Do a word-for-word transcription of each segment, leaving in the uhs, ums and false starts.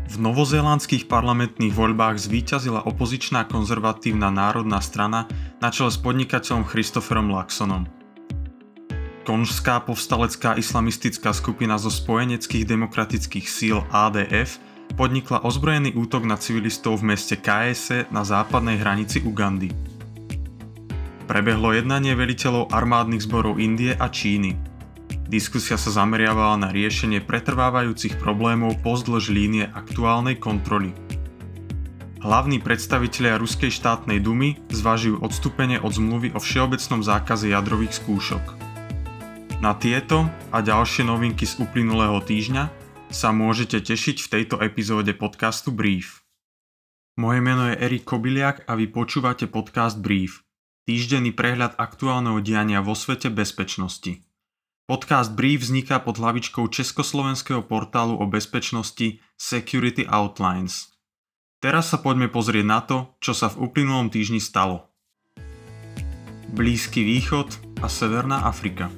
V novozélandských parlamentných voľbách zvíťazila opozičná konzervatívna národná strana na čele s podnikateľom Christopherom Luxonom. Konžská povstalecká islamistická skupina zo spojeneckých demokratických síl á dé ef podnikla ozbrojený útok na civilistov v meste Kaese na západnej hranici Ugandy. Prebehlo jednanie veliteľov armádnych zborov Indie a Číny. Diskusia sa zameriavala na riešenie pretrvávajúcich problémov pozdĺž línie aktuálnej kontroly. Hlavní predstavitelia Ruskej štátnej dumy zvažujú odstúpenie od zmluvy o všeobecnom zákaze jadrových skúšok. Na tieto a ďalšie novinky z uplynulého týždňa sa môžete tešiť v tejto epizóde podcastu Brief. Moje meno je Erik Kobiliak a vy počúvate podcast Brief, týždenný prehľad aktuálneho diania vo svete bezpečnosti. Podcast Brief vzniká pod hlavičkou československého portálu o bezpečnosti Security Outlines. Teraz sa poďme pozrieť na to, čo sa v uplynulom týždni stalo. Blízky východ a Severná Afrika.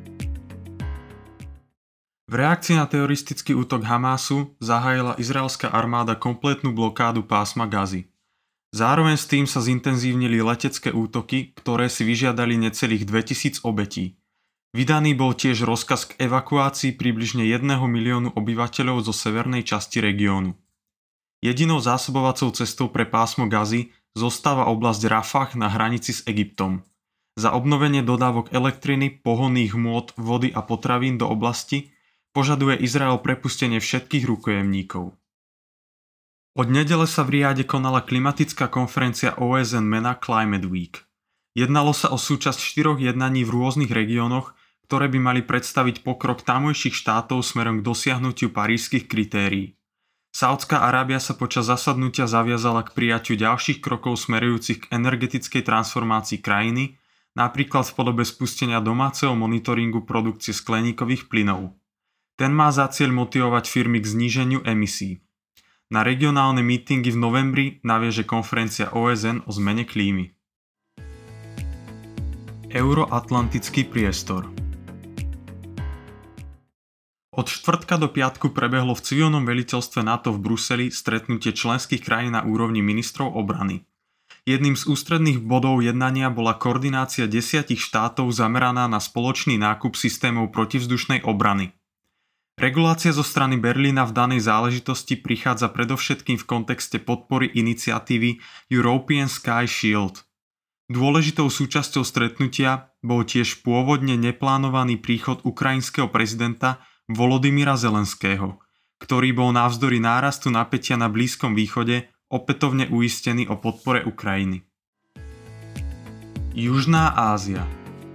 V reakcii na teroristický útok Hamásu zahájila izraelská armáda kompletnú blokádu pásma Gazy. Zároveň s tým sa zintenzívnili letecké útoky, ktoré si vyžiadali necelých dvetisíc obetí. Vydaný bol tiež rozkaz k evakuácii približne jedného miliónu obyvateľov zo severnej časti regiónu. Jedinou zásobovacou cestou pre pásmo Gazy zostáva oblasť Rafah na hranici s Egyptom. Za obnovenie dodávok elektriny, pohonných hmôt, vody a potravín do oblasti požaduje Izrael prepustenie všetkých rukojemníkov. Od nedele sa v Riade konala klimatická konferencia ó es en mena Climate Week. Jednalo sa o súčasť štyroch jednaní v rôznych regiónoch, ktoré by mali predstaviť pokrok tamojších štátov smerom k dosiahnutiu parížskych kritérií. Saudská Arábia sa počas zasadnutia zaviazala k prijatiu ďalších krokov smerujúcich k energetickej transformácii krajiny, napríklad v podobe spustenia domáceho monitoringu produkcie skleníkových plynov. Ten má za cieľ motivovať firmy k zníženiu emisí. Na regionálne mítingy v novembri naviaže konferencia ó es en o zmene klímy. Euroatlantický priestor. Od štvrtka do piatku prebehlo v civilnom veliteľstve NATO v Bruseli stretnutie členských krajín na úrovni ministrov obrany. Jedným z ústredných bodov jednania bola koordinácia desiatich štátov zameraná na spoločný nákup systémov protivzdušnej obrany. Regulácia zo strany Berlína v danej záležitosti prichádza predovšetkým v kontexte podpory iniciatívy European Sky Shield. Dôležitou súčasťou stretnutia bol tiež pôvodne neplánovaný príchod ukrajinského prezidenta Volodymyra Zelenského, ktorý bol navzdory nárastu napätia na Blízkom východe opätovne uistený o podpore Ukrajiny. Južná Ázia.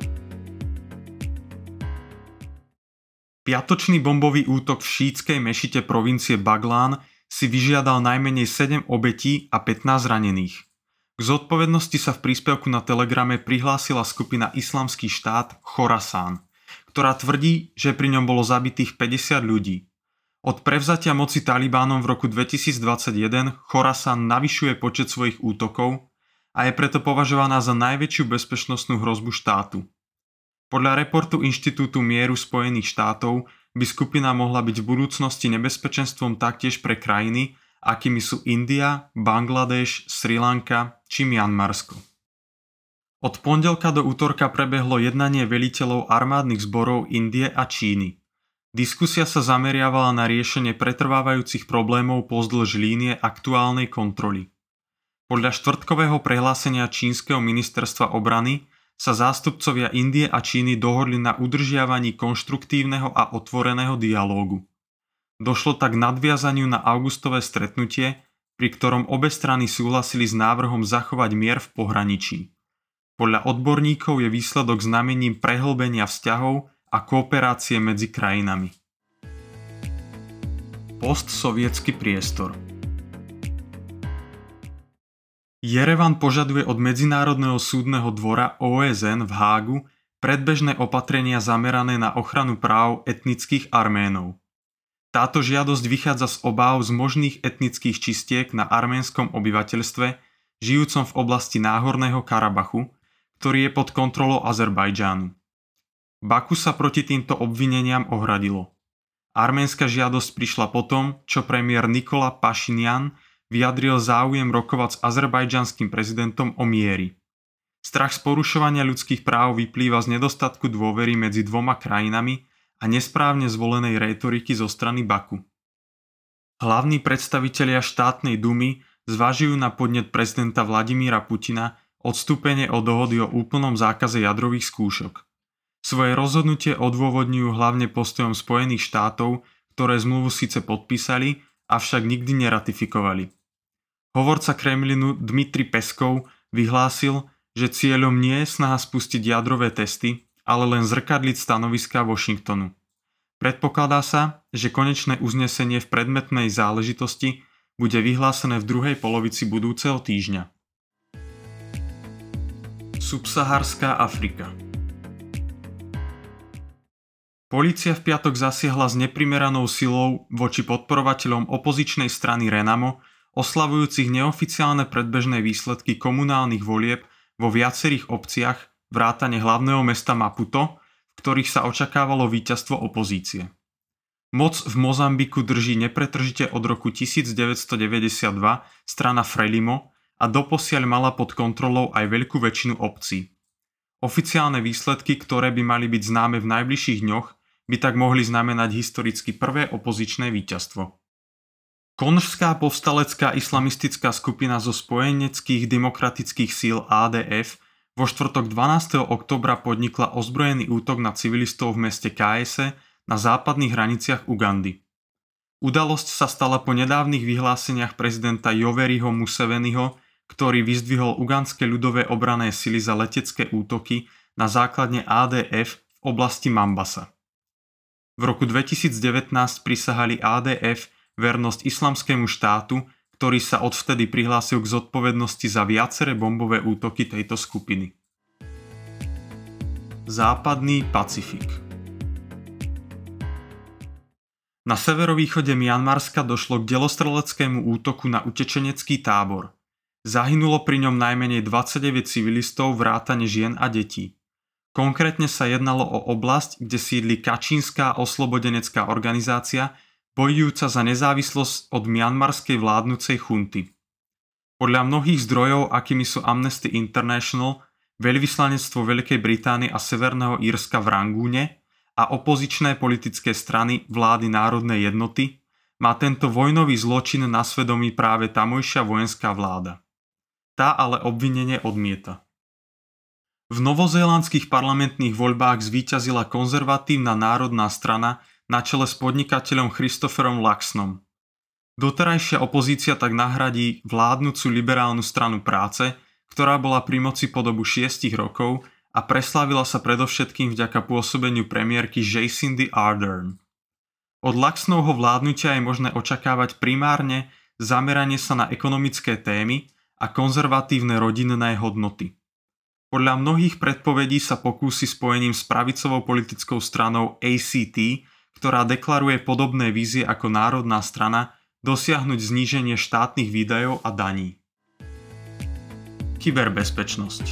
Piatočný bombový útok v šítskej mešite provincie Baglán si vyžiadal najmenej sedem obetí a pätnásť ranených. K zodpovednosti sa v príspevku na Telegrame prihlásila skupina Islamský štát Chorasán, ktorá tvrdí, že pri ňom bolo zabitých päťdesiat ľudí. Od prevzatia moci Talibánom v roku dvetisícdvadsaťjeden Chorasán navyšuje počet svojich útokov a je preto považovaná za najväčšiu bezpečnostnú hrozbu štátu. Podľa reportu Inštitútu mieru Spojených štátov by skupina mohla byť v budúcnosti nebezpečenstvom taktiež pre krajiny, akými sú India, Bangladeš, Sri Lanka či Mianmarsko. Od pondelka do útorka prebehlo jednanie veliteľov armádnych zborov Indie a Číny. Diskusia sa zameriavala na riešenie pretrvávajúcich problémov pozdĺž línie aktuálnej kontroly. Podľa štvrtkového prehlásenia čínskeho ministerstva obrany sa zástupcovia Indie a Číny dohodli na udržiavaní konštruktívneho a otvoreného dialógu. Došlo tak k nadviazaniu na augustové stretnutie, pri ktorom obe strany súhlasili s návrhom zachovať mier v pohraničí. Podľa odborníkov je výsledok znamením prehlbenia vzťahov a kooperácie medzi krajinami. Postsovietský priestor. Jerevan požaduje od Medzinárodného súdneho dvora ó es en v Hágu predbežné opatrenia zamerané na ochranu práv etnických Arménov. Táto žiadosť vychádza z obáv z možných etnických čistiek na arménskom obyvateľstve, žijúcom v oblasti Náhorného Karabachu, ktorý je pod kontrolou Azerbajdžánu. Baku sa proti týmto obvineniam ohradilo. Arménska žiadosť prišla potom, čo premiér Nikola Pašinjan vyjadril záujem rokovať s azerbajdžanským prezidentom o miery. Strach z porušovania ľudských práv vyplýva z nedostatku dôvery medzi dvoma krajinami a nesprávne zvolenej rétoriky zo strany Baku. Hlavní predstavitelia štátnej dumy zvažujú na podnet prezidenta Vladimíra Putina odstúpenie od dohody o úplnom zákaze jadrových skúšok. Svoje rozhodnutie odôvodňujú hlavne postojom Spojených štátov, ktoré zmluvu síce podpísali, avšak nikdy neratifikovali. Hovorca Kremlinu Dmitri Peskov vyhlásil, že cieľom nie je snaha spustiť jadrové testy, ale len zrkadliť stanoviská Washingtonu. Predpokladá sa, že konečné uznesenie v predmetnej záležitosti bude vyhlásené v druhej polovici budúceho týždňa. Subsaharská Afrika. Polícia v piatok zasiahla s neprimeranou silou voči podporovateľom opozičnej strany Renamo, oslavujúcich neoficiálne predbežné výsledky komunálnych volieb vo viacerých obciach vrátane hlavného mesta Maputo, v ktorých sa očakávalo víťazstvo opozície. Moc v Mozambiku drží nepretržite od roku devätnásťstodeväťdesiatdva strana Frelimo a doposiaľ mala pod kontrolou aj veľkú väčšinu obcí. Oficiálne výsledky, ktoré by mali byť známe v najbližších dňoch, by tak mohli znamenať historicky prvé opozičné víťazstvo. Konžská povstalecká islamistická skupina zo spojeneckých demokratických síl á dé ef vo štvrtok dvanásteho októbra podnikla ozbrojený útok na civilistov v meste Kaese na západných hraniciach Ugandy. Udalosť sa stala po nedávnych vyhláseniach prezidenta Yoweriho Museveniho, ktorý vyzdvihol ugandské ľudové obranné sily za letecké útoky na základne á dé ef v oblasti Mambasa. V roku dvetisícdevätnásť prisahali á dé ef vernosť islamskému štátu, ktorý sa odvtedy prihlásil k zodpovednosti za viaceré bombové útoky tejto skupiny. Západný Pacifik. Na severovýchode Mianmarska došlo k delostreleckému útoku na utečenecký tábor. Zahynulo pri ňom najmenej dvadsaťdeväť civilistov vrátane žien a detí. Konkrétne sa jednalo o oblasť, kde sídli Kačínska oslobodenecká organizácia, bojujúca za nezávislosť od mianmarskej vládnucej chunty. Podľa mnohých zdrojov, akými sú Amnesty International, veľvyslanectvo Veľkej Británie a Severného Írska v Rangúne a opozičné politické strany vlády národnej jednoty, má tento vojnový zločin na svedomí práve tamojšia vojenská vláda. Tá ale obvinenie odmieta. V novozélandských parlamentných voľbách zvíťazila konzervatívna národná strana na čele s podnikateľom Christopherom Luxonom. Doterajšia opozícia tak nahradí vládnucu liberálnu stranu práce, ktorá bola pri moci po dobu šiestich rokov a preslávila sa predovšetkým vďaka pôsobeniu premiérky Jacindy Ardern. Od Luxonovho vládnutia je možné očakávať primárne zameranie sa na ekonomické témy a konzervatívne rodinné hodnoty. Podľa mnohých predpovedí sa pokúsi spojením s pravicovou politickou stranou á cé té, ktorá deklaruje podobné vízie ako národná strana, dosiahnuť zníženie štátnych výdajov a daní. Kyberbezpečnosť.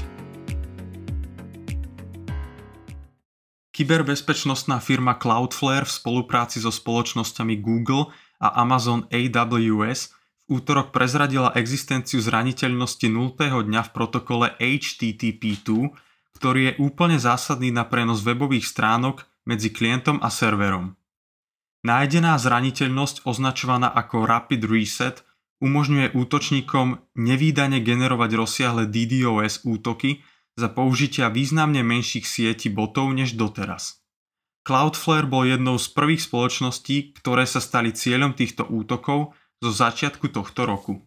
Kyberbezpečnostná firma Cloudflare v spolupráci so spoločnosťami Google a Amazon á vé es v útorok prezradila existenciu zraniteľnosti nultého dňa v protokole há té té pé dva, ktorý je úplne zásadný na prenos webových stránok medzi klientom a serverom. Nájdená zraniteľnosť, označovaná ako Rapid Reset, umožňuje útočníkom nevídane generovať rozsiahle dé dé-ó es útoky za použitia významne menších sietí botov než doteraz. Cloudflare bol jednou z prvých spoločností, ktoré sa stali cieľom týchto útokov zo začiatku tohto roku.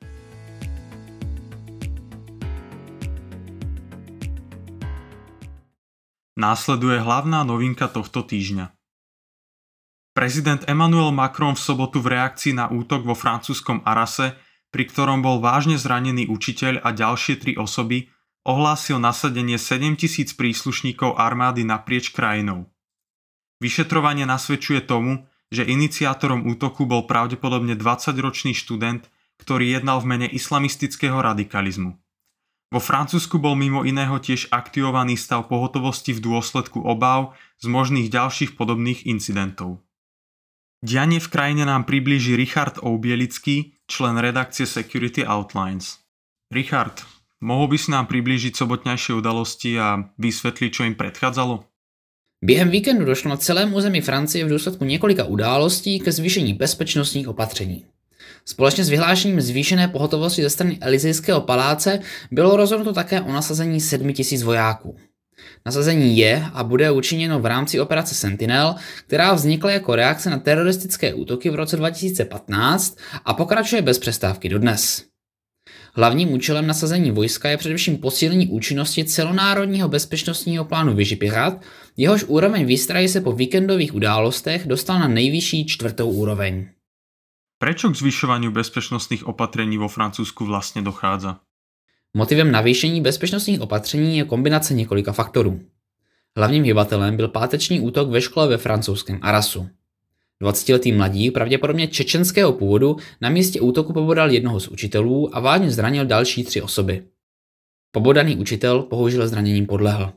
Následuje hlavná novinka tohto týždňa. Prezident Emmanuel Macron v sobotu v reakcii na útok vo francúzskom Arrase, pri ktorom bol vážne zranený učiteľ a ďalšie tri osoby, ohlásil nasadenie sedemtisíc príslušníkov armády naprieč krajinou. Vyšetrovanie nasvedčuje tomu, že iniciátorom útoku bol pravdepodobne dvadsaťročný študent, ktorý jednal v mene islamistického radikalizmu. Vo Francúzsku bol mimo iného tiež aktivovaný stav pohotovosti v dôsledku obáv z možných ďalších podobných incidentov. Dianie v krajine nám priblíži Richard Oubielický, člen redakcie Security Outlines. Richard, mohol by si nám priblížiť sobotňajšie udalosti a vysvetliť, čo im predchádzalo? Během víkendu došlo na celém území Francie v důsledku několika událostí ke zvýšení bezpečnostních opatření. Společně s vyhlášením zvýšené pohotovosti ze strany Elysejského paláce bylo rozhodnuto také o nasazení sedmi tisíc vojáků. Nasazení je a bude učiněno v rámci operace Sentinel, která vznikla jako reakce na teroristické útoky v roce dva tisíce patnáct a pokračuje bez přestávky dodnes. Hlavním účelem nasazení vojska je především posílení účinnosti celonárodního bezpečnostního plánu Vigipirate, jehož úroveň výstrahy se po víkendových událostech dostal na nejvyšší čtvrtou úroveň. Prečo k zvyšovaniu bezpečnostných opatrení vo Francúzsku vlastne dochádza? Motivem navýšení bezpečnostních opatření je kombinace několika faktorů. Hlavním hybatelem byl páteční útok ve škole ve francouzském Arrasu. dvacetiletý mladík, pravděpodobně čečenského původu, na místě útoku pobodal jednoho z učitelů a vážně zranil další tři osoby. Pobodaný učitel bohužel zraněním podlehl.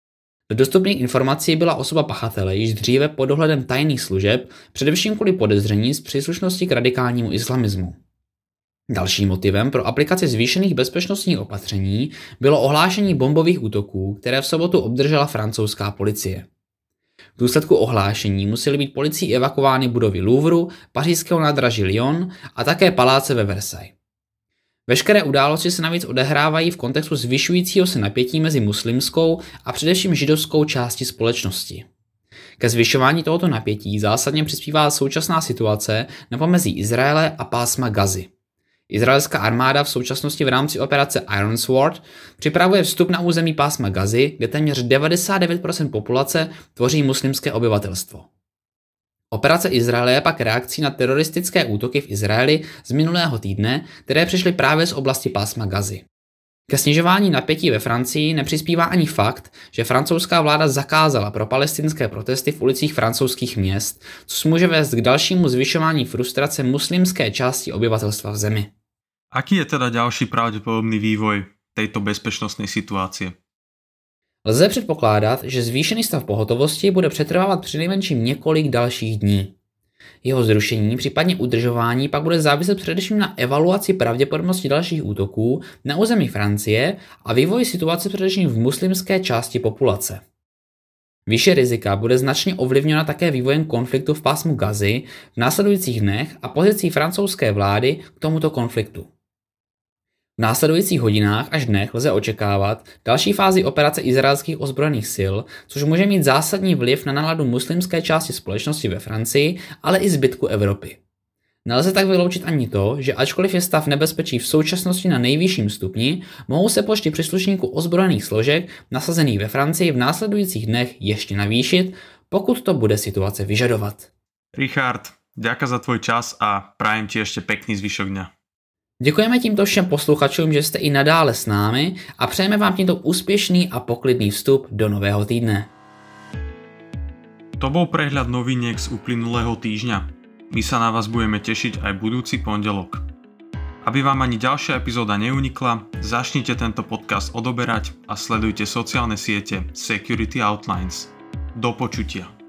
Do dostupných informací byla osoba pachatele již dříve pod dohledem tajných služeb, především kvůli podezření z příslušnosti k radikálnímu islamismu. Dalším motivem pro aplikaci zvýšených bezpečnostních opatření bylo ohlášení bombových útoků, které v sobotu obdržela francouzská policie. V důsledku ohlášení musely být policií evakuovány budovy Louvru, pařížského nádraží Lyon a také paláce ve Versailles. Veškeré události se navíc odehrávají v kontextu zvyšujícího se napětí mezi muslimskou a především židovskou částí společnosti. Ke zvyšování tohoto napětí zásadně přispívá současná situace na pomezí Izraele a pásma Gazy. Izraelská armáda v současnosti v rámci operace Iron Sword připravuje vstup na území pásma Gazy, kde téměř devadesát devět procent populace tvoří muslimské obyvatelstvo. Operace Izraele je pak reakcí na teroristické útoky v Izraeli z minulého týdne, které přišly právě z oblasti pásma Gazy. Ke snižování napětí ve Francii nepřispívá ani fakt, že francouzská vláda zakázala pro palestinské protesty v ulicích francouzských měst, což může vést k dalšímu zvyšování frustrace muslimské části obyvatelstva v zemi. Aký je teda ďalší pravdepodobný vývoj tejto bezpečnostnej situácie? Lze předpokládat, že zvýšený stav pohotovosti bude přetrvávat přinejmenším několik dalších dní. Jeho zrušení, případně udržování, pak bude záviset především na evaluaci pravděpodobnosti dalších útoků na území Francie a vývoji situace především v muslimské části populace. Výše rizika bude značně ovlivněna také vývojem konfliktu v pásmu Gazy v následujících dnech a pozicí francouzské vlády k tomuto konfliktu. V následujících hodinách až dnech lze očekávat další fázi operace izraelských ozbrojených sil, což může mít zásadní vliv na náladu muslimské části společnosti ve Francii, ale i zbytku Evropy. Nelze tak vyloučit ani to, že ačkoliv je stav nebezpečí v současnosti na nejvyšším stupni, mohou se počty příslušníků ozbrojených složek nasazených ve Francii v následujících dnech ještě navýšit, pokud to bude situace vyžadovat. Richard, ďakujem za tvoj čas a prajem ti ešte pekný zvyšok dňa. Děkujeme tímto všem posluchačům, že jste i nadále s námi a přejeme vám tímto úspěšný a poklidný vstup do nového týdne. To bol prehľad noviniek z uplynulého týždňa. My sa na vás budeme tešiť aj budúci pondelok. Aby vám ani ďalšia epizóda neunikla, začnite tento podcast odoberať a sledujte sociálne siete Security Outlines. Do počutia.